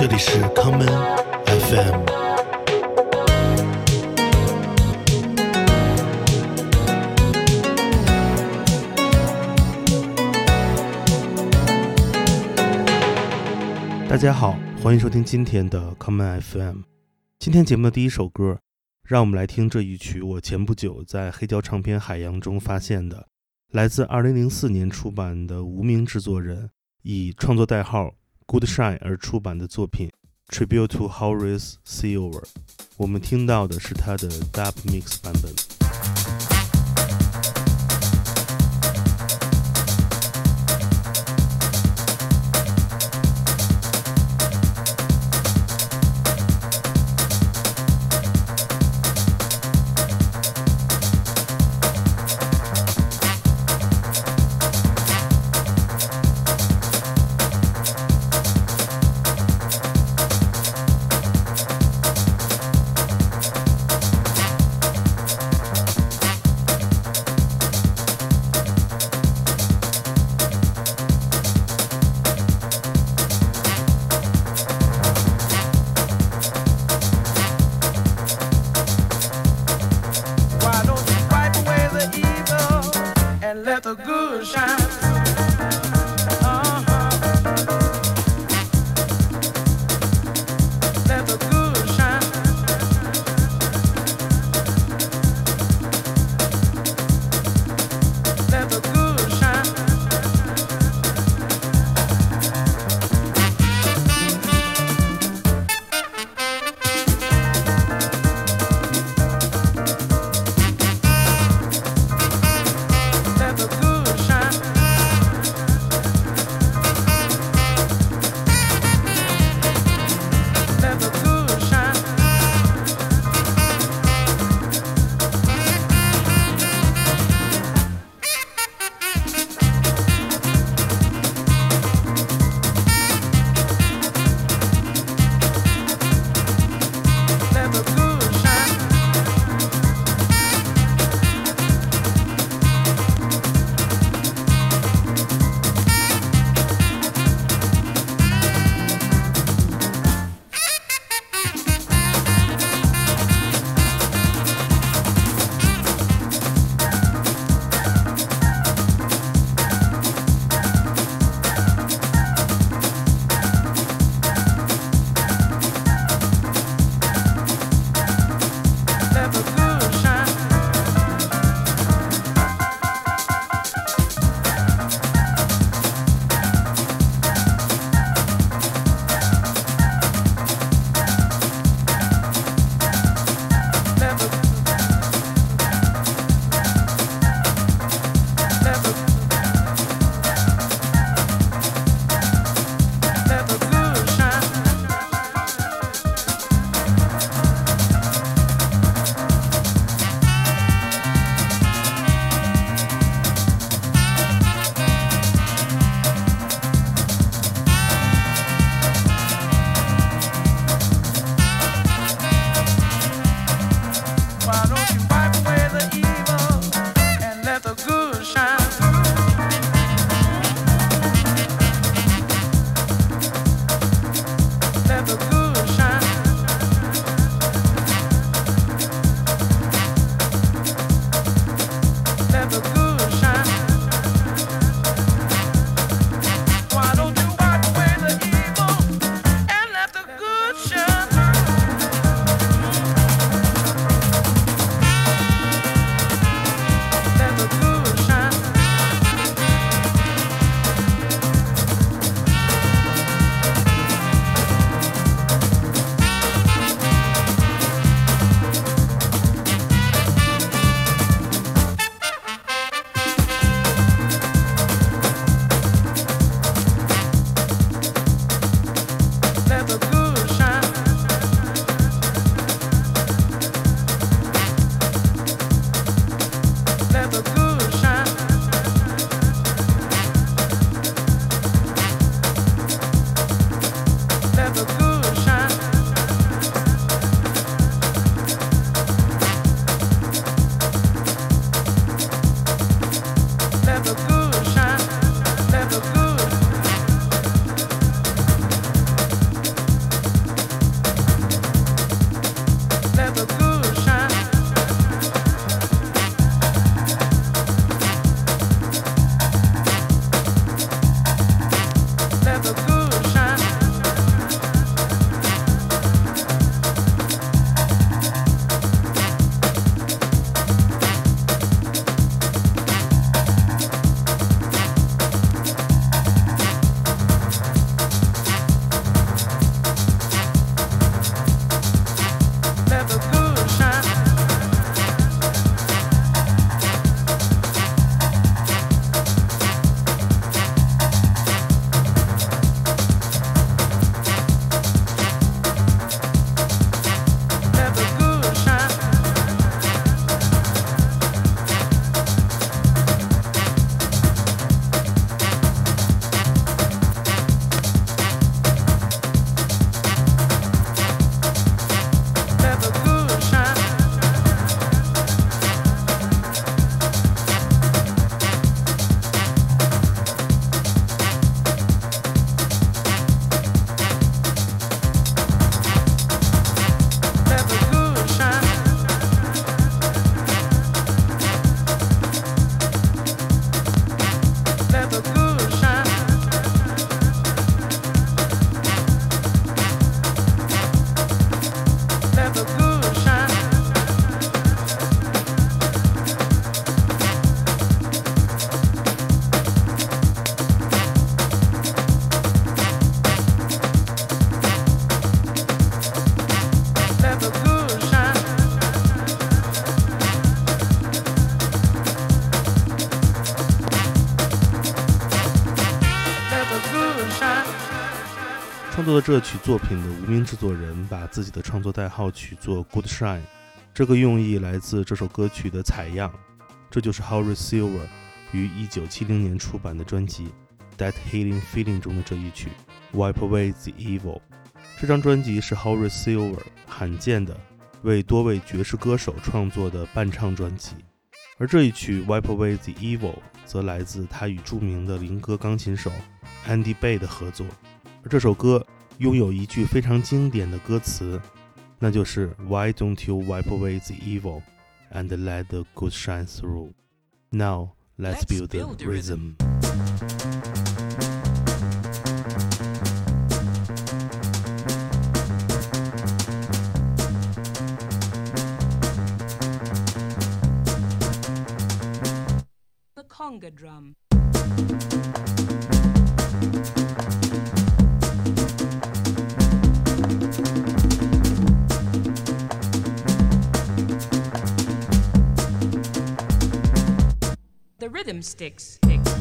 这里是 Common FM。大家好，欢迎收听今天的 Common FM。今天节目的第一首歌，让我们来听这一曲我前不久在黑胶唱片海洋中发现的，来自2004年出版的无名制作人以创作代号 Goodshine 而出版的作品 Tribute to Horace Silver。 我们听到的是他的 Dub Mix 版本。 创作的这曲作品的无名制作人把自己的创作代号取作 Good Shine， 这个用意来自这首歌曲的采样，这就是 Horace Silver 于1970年出版的专辑 That Healing Feeling 中的这一曲 Wipe Away the Evil。 这张专辑是 Horace Silver 罕见的为多位爵士歌手创作的伴唱专辑，而这一曲 Wipe Away the Evil 则来自他与著名的灵歌钢琴手 Andy Bay 的合作。而这首歌拥有一句非常经典的歌词，那就是 Why don't you wipe away the evil and let the good shine through? Now let's build the rhythm. The conga drum. The rhythm sticks.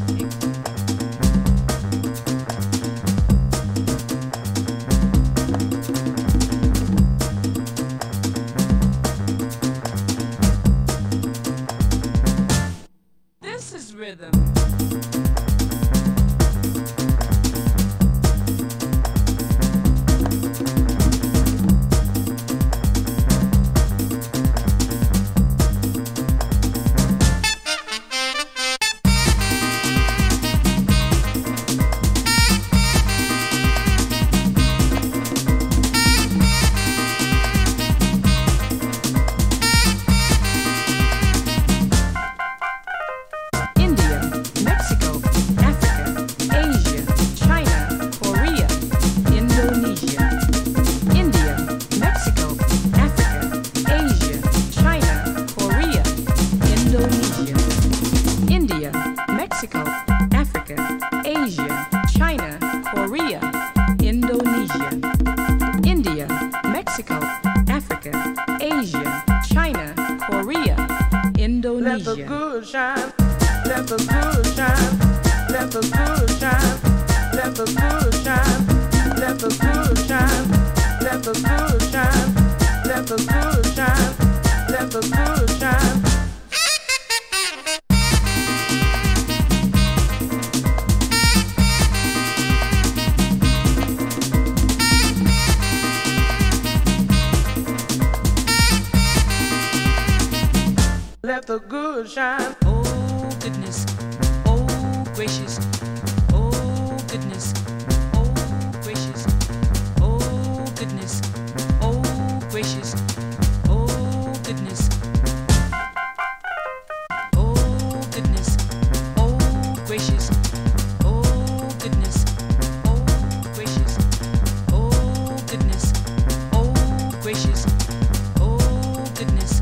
This is rhythm. Let the good shine, let the good shine, let the good shine, let the good shine, let the good shine, let the good shine, let the good shine, let the good shine. Let the good shine. Oh goodness, oh gracious, oh goodness, oh gracious, oh goodness, oh gracious, oh goodness, oh goodness, oh gracious, oh goodness, oh gracious, oh goodness, oh gracious, oh goodness.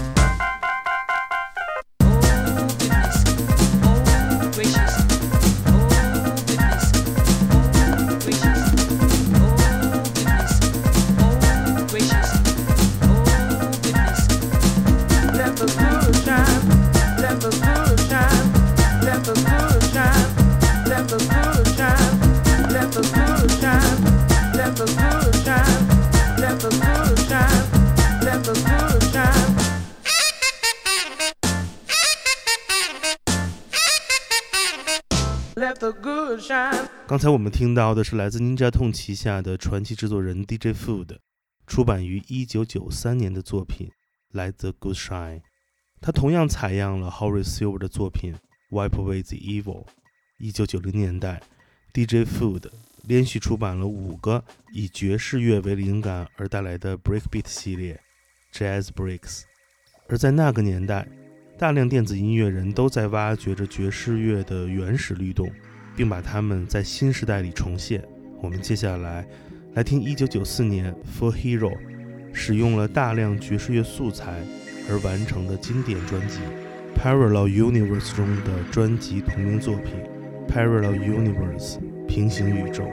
Let the good shine. 刚才我们听到的是来自 Ninja Tune 旗下的传奇制作人 DJ Food 出版于1993年的作品 Let the Good Shine。 他同样采样了 Horace Silver 的作品 Wipe Away the Evil。 1990年代 DJ Food 连续出版了5个以爵士乐为灵感而带来的 Breakbeat 系列 Jazz Breaks。 而在那个年代，大量电子音乐人都在挖掘着爵士乐的原始律动，并把它们在新时代里重现。我们接下来听1994年 For Hero 使用了大量爵士乐素材而完成的经典专辑 Parallel Universe 中的专辑同名作品 Parallel Universe 平行宇宙。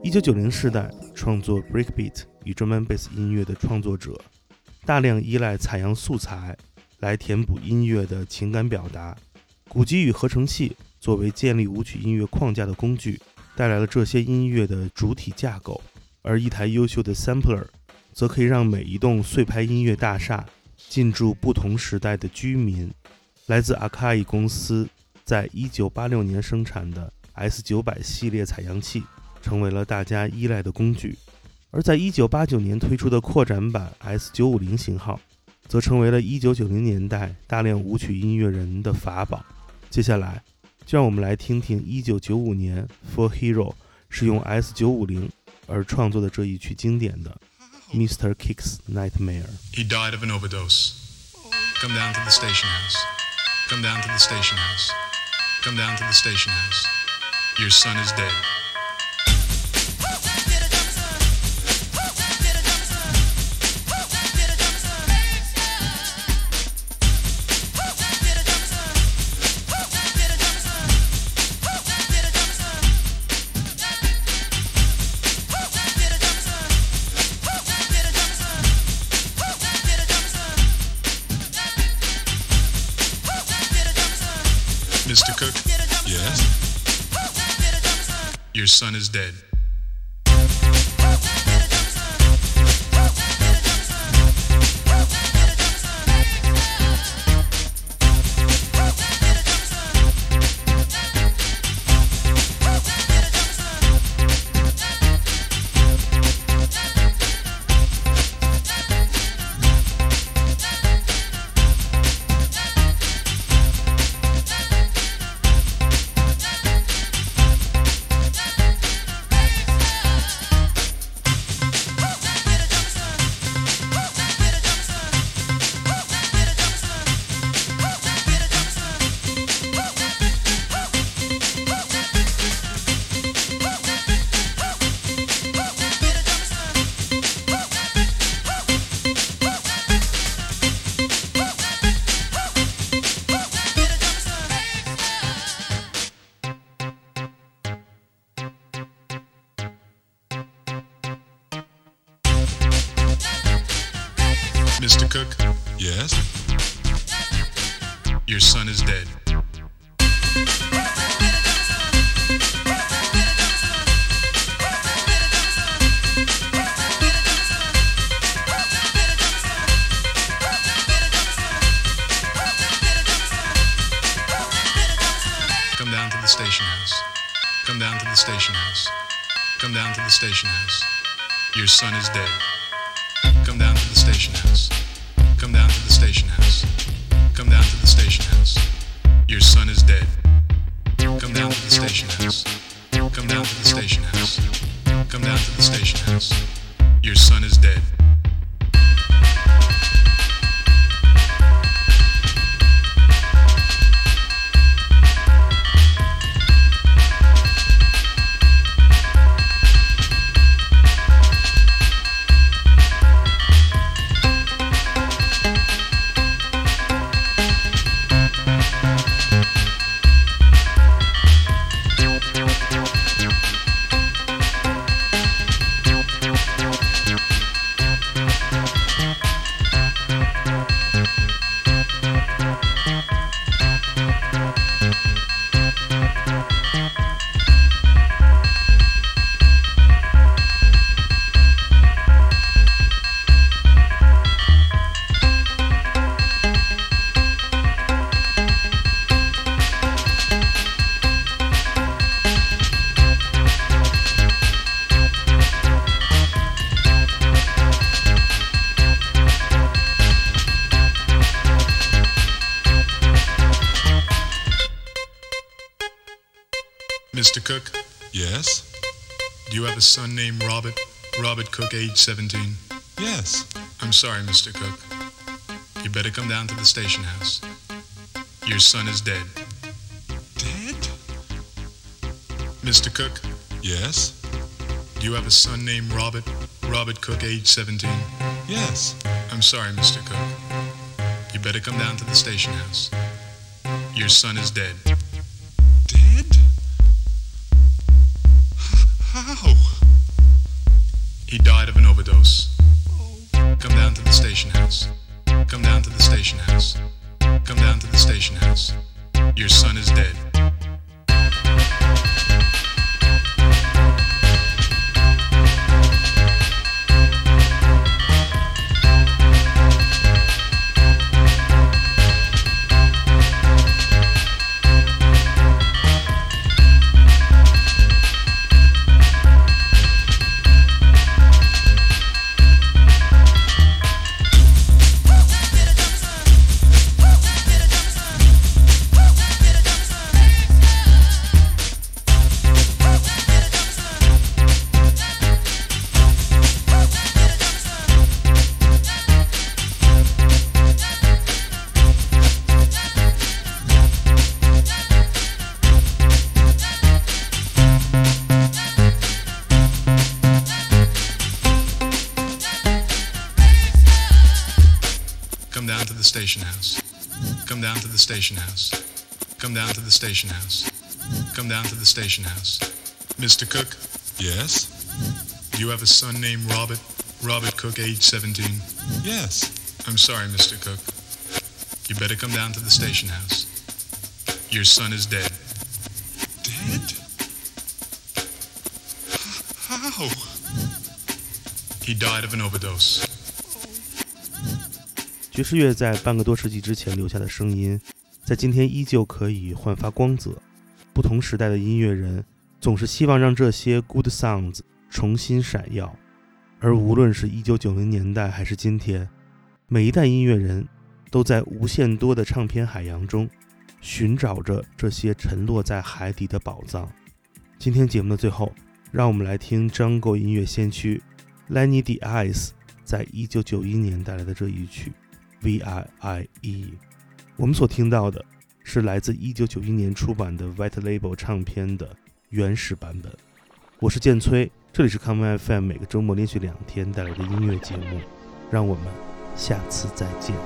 1990世代创作 breakbeat 与 drum and bass 音乐的创作者，大量依赖采样素材来填补音乐的情感表达。鼓机与合成器作为建立舞曲音乐框架的工具，带来了这些音乐的主体架构，而一台优秀的 sampler 则可以让每一栋碎拍音乐大厦进驻不同时代的居民。来自 Akai 公司在1986年生产的 S900 系列采样器成为了大家依赖的工具，而在1989年推出的扩展版 S950 型号则成为了1990年代大量舞曲音乐人的法宝。接下来就让我们来听听1995年 For Hero 使用 S950 而创作的这一曲经典的 Mr. Kick's Nightmare。 He died of an overdose. Come down to the station house. Come down to the station house. Come down to the station house. Your son is dead. Mr. Cook? Yes? Your son is dead. Mr. Cook? Yes? Your son is dead. Come down to the station house. Come down to the station house. Come down to the station house. Your son is dead. Come down to the station house. Come down to the station house. Come down to the station house. Your son is dead. Come down to the station house. Come down to the station house. Come down to the station house. Your son is dead. Mr. Cook? Yes? Do you have a son named Robert? Robert Cook, age 17? Yes. I'm sorry, Mr. Cook. You better come down to the station house. Your son is dead. Dead? Mr. Cook? Yes? Do you have a son named Robert? Robert Cook, age 17? Yes. I'm sorry, Mr. Cook. You better come down to the station house. Your son is dead. Dead? How? He died of an overdose. Come down to the station house. Come down to the station house. Come down to the station house. Your son is dead. Come down to the station house. Come down to the station house. Come down to the station house. Come down to the station house. Mr. Cook, Yes? you have a son named Robert? Robert Cook, age 17. Yes. I'm sorry, Mr. Cook. You better come down to the station house. Your son is dead. Dead? How? He died of an overdose. 爵士乐在半个多世纪之前留下的声音，在今天依旧可以焕发光泽。不同时代的音乐人总是希望让这些 good sounds 重新闪耀，而无论是1990年代还是今天，每一代音乐人都在无限多的唱片海洋中寻找着这些沉落在海底的宝藏。今天节目的最后，让我们来听 Jungle 音乐先驱 Lenny Diaz 在1991年带来的这一曲VIIE。 我们所听到的是来自1991年出版的 White Label 唱片的原始版本。我是建崔，这里是 Common FM 每个周末连续2天带来的音乐节目，让我们下次再见。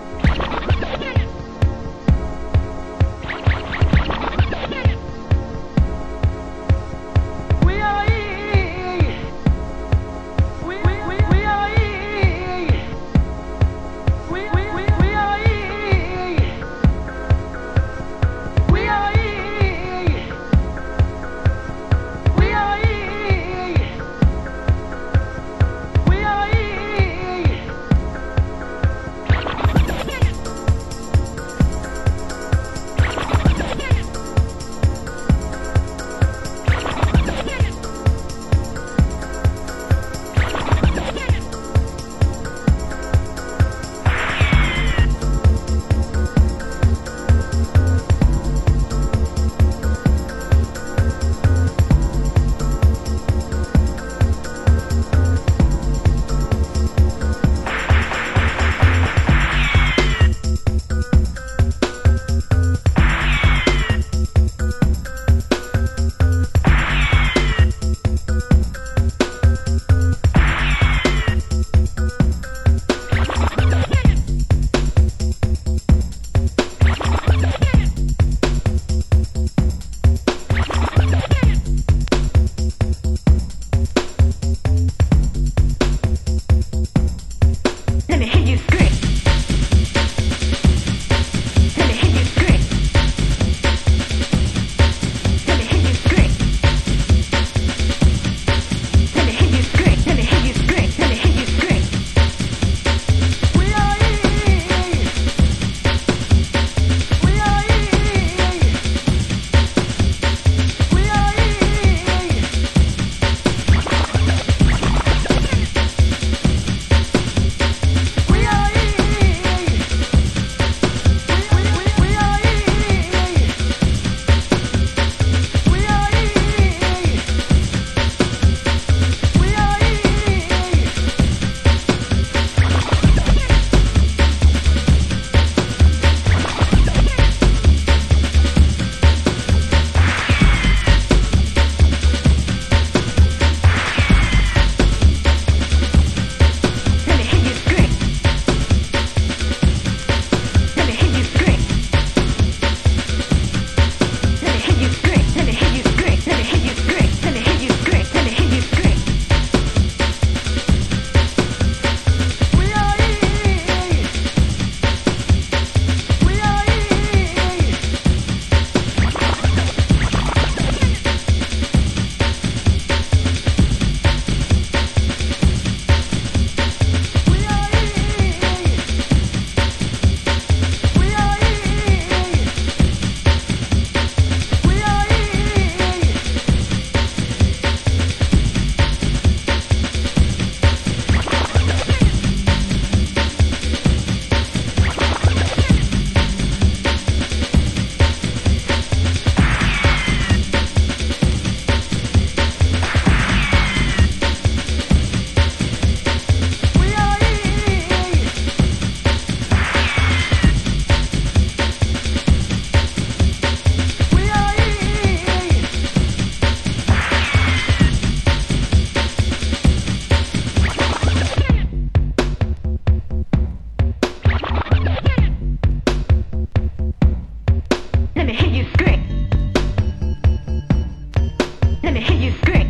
Let me hear you scream.